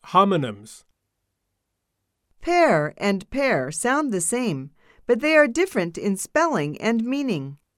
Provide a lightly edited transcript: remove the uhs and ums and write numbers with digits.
Homonyms. Pear and pear sound the same, but they are different in spelling and meaning.